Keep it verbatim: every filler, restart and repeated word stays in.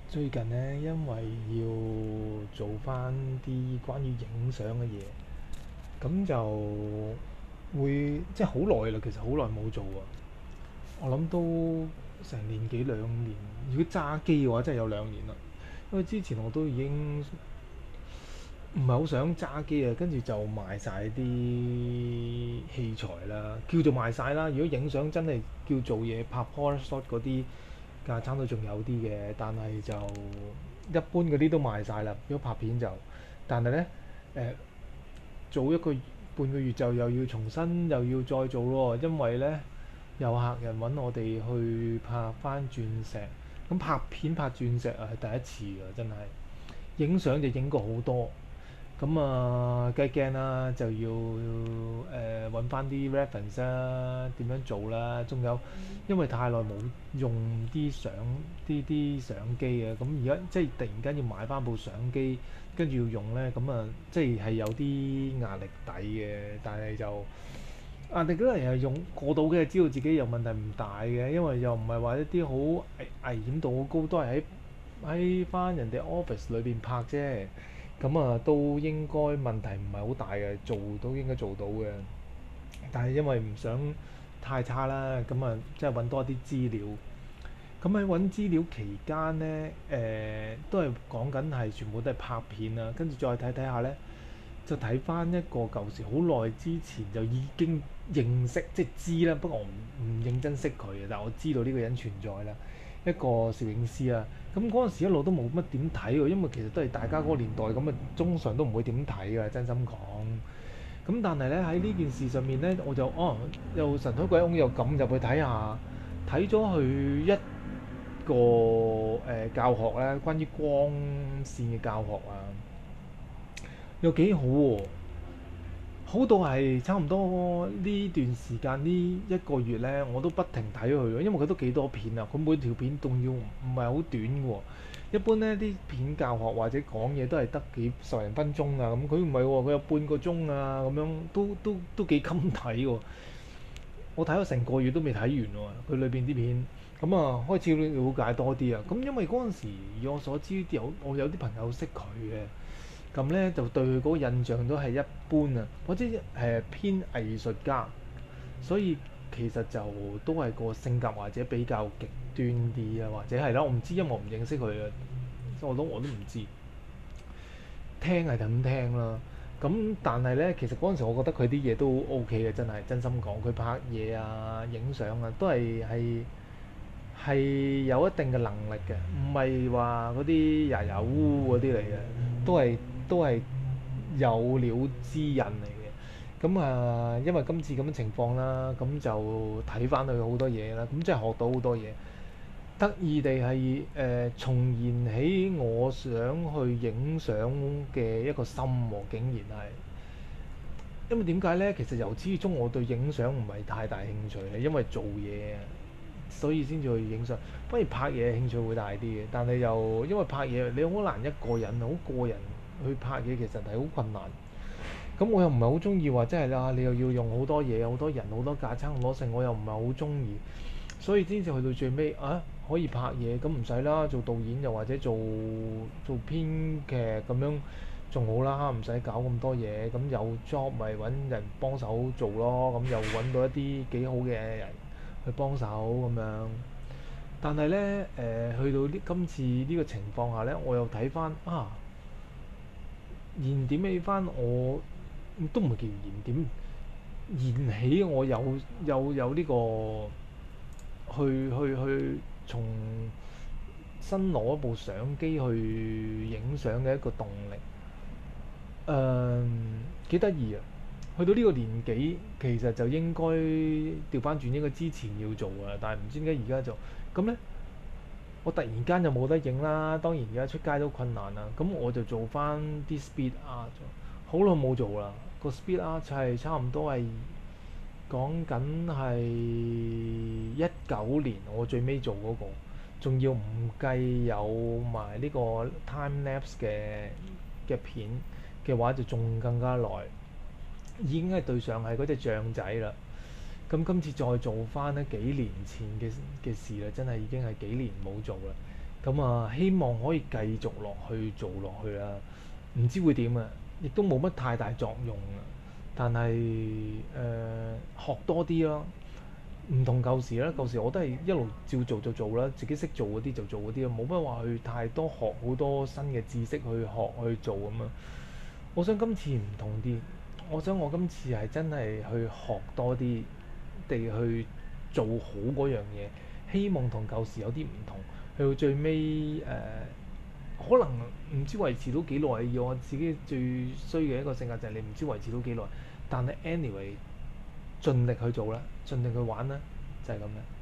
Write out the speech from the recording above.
最近呢，因為要做翻啲關於影相嘅嘢，咁就會即係好耐啦。其實好耐冇做啊，我諗都成年幾兩年。如果揸機嘅話，真係有兩年啦。因為之前我都已經唔係好想揸機啊，跟住就賣晒啲器材啦，叫做賣晒啦。如果影相真係叫做嘢拍 Polaroid shot 嗰啲架撐都仲有啲嘅，但係就一般嗰啲都賣晒啦。如果拍片就，但係呢，誒、早一個半個月就又要重新又要再做咯，因為呢，有客人揾我哋去拍翻鑽石。咁拍片拍鑽石啊係第一次㗎，真係。影相就影過好多。咁啊，計鏡啦，就要誒揾翻啲 reference 啦，點樣做啦？仲有，因為太耐冇用啲相啲啲相機啊，咁而家即係突然間要買翻部相機，跟住要用咧，咁啊，即係係有啲壓力底嘅，但係就壓力嗰陣係用過到嘅，知道自己有問題唔大嘅，因為又唔係話一啲好危危險度好高，都係喺喺翻人哋 office 裏邊拍啫。咁啊，都應該問題唔係好大嘅，做都應該做到嘅。但係因為唔想太差啦，咁啊，即係揾多啲資料。咁喺揾資料期間呢，誒、都係講緊係全部都係拍片啦，跟住再睇睇下呢，就睇翻一個舊時好耐之前就已經認識即係知啦，不過我唔唔認真識佢嘅，但係我知道呢個人存在啦，一個攝影師啊。咁嗰陣時一路都冇乜點睇喎，因為其實都係大家嗰個年代咁啊，通常都唔會點睇嘅，真心講。咁但係咧喺呢件事上面咧，我就哦又神推鬼擁又撳入去睇下，睇咗佢一個誒、呃教學咧，關於光線嘅教學啊，又幾好喎、好到係差唔多呢段時間呢一個月呢，我都不停睇佢咯，因為佢都幾多片啊，佢每條片仲要唔係好短嘅喎。一般呢啲片教學或者講嘢都係得幾十零分鐘啊，咁佢唔係喎，佢有半個鐘啊，咁樣都都都幾襟睇喎。我睇咗成個月都未睇完喎，佢裏邊啲片，咁啊開始了解多啲啊。咁因為嗰陣時以我所知有我有啲朋友識佢嘅。咁咧就對佢嗰個印象都係一般啊，或者誒偏藝術家，所以其實就都係個性格或者比較極端啲啊，或者係啦，我唔知，因為我唔認識佢啊，我都我都唔知。聽係咁聽啦，咁但係咧，其實嗰陣時我覺得佢啲嘢都 O K 嘅，真係真心講，佢拍嘢啊、影相啊，都係係係有一定嘅能力嘅，唔係話嗰啲牙牙烏嗰啲嚟嘅，都係都係有料之人嚟嘅。咁啊，因為今次咁嘅情況啦，咁就睇翻佢好多嘢啦，咁真係學到好多嘢。得意地係誒、呃、重燃起我想去影相嘅一個心喎、竟然係。因為點解呢？其實由始至終我對影相唔係太大興趣，係因為做嘢啊，所以先至去影相。反而拍嘢興趣會大啲嘅，但係又因為拍嘢你好難一個人好個人去拍嘢，其實係好困難。咁我又唔係好中意話，真係啦，你又要用好多嘢、好多人、好多架撐、好多剩，我又唔係好中意。所以先至去到最尾啊，可以拍嘢咁唔使啦，做導演又或者做做編劇咁樣仲好啦，唔使搞咁多嘢。咁有 job 咪揾人幫手做咯，咁又揾到一啲幾好嘅人去幫手咁樣。但係呢，誒、去到呢今次呢個情況下呢，我又睇翻啊，燃點起翻我都唔係叫燃點，燃起我有有有呢、個去去去從新攞一部相機去影相嘅一個動力。誒幾得意啊！去到呢個年紀，其實就應該調翻轉，應該之前要做啊，但係唔知點解而家就咁呢。我突然間就冇得影啦，當然而家出街都困難啦。咁我就做翻啲 speed art，好耐冇做啦。個 speed art 係差唔多係講緊係一九年我最尾做嗰、個，仲要唔計有埋呢個 time lapse 嘅嘅片嘅話，就仲更加耐。已經係對上係嗰隻象仔啦。咁今次再做翻呢幾年前嘅嘅事啦，真係已經係幾年冇做啦。 咁啊，希望可以繼續落去做落去啦。唔知會點啊，亦都冇乜太大作用啊。但係誒、呃、學多啲咯，唔同舊時啦。舊時我都係一路照做就做啦，自己識做嗰啲就做嗰啲咯，冇乜話去太多學好多新嘅知識去學去做咁樣。我想今次唔同啲，我想我今次係真係去學多啲地去做好嗰樣嘢，希望同舊時有啲唔同。去到最尾誒、呃，可能唔知維持到幾耐。以我自己最衰嘅一個性格就係你唔知維持到幾耐，但係 anyway 盡力去做啦，盡力去玩啦，就係咁樣。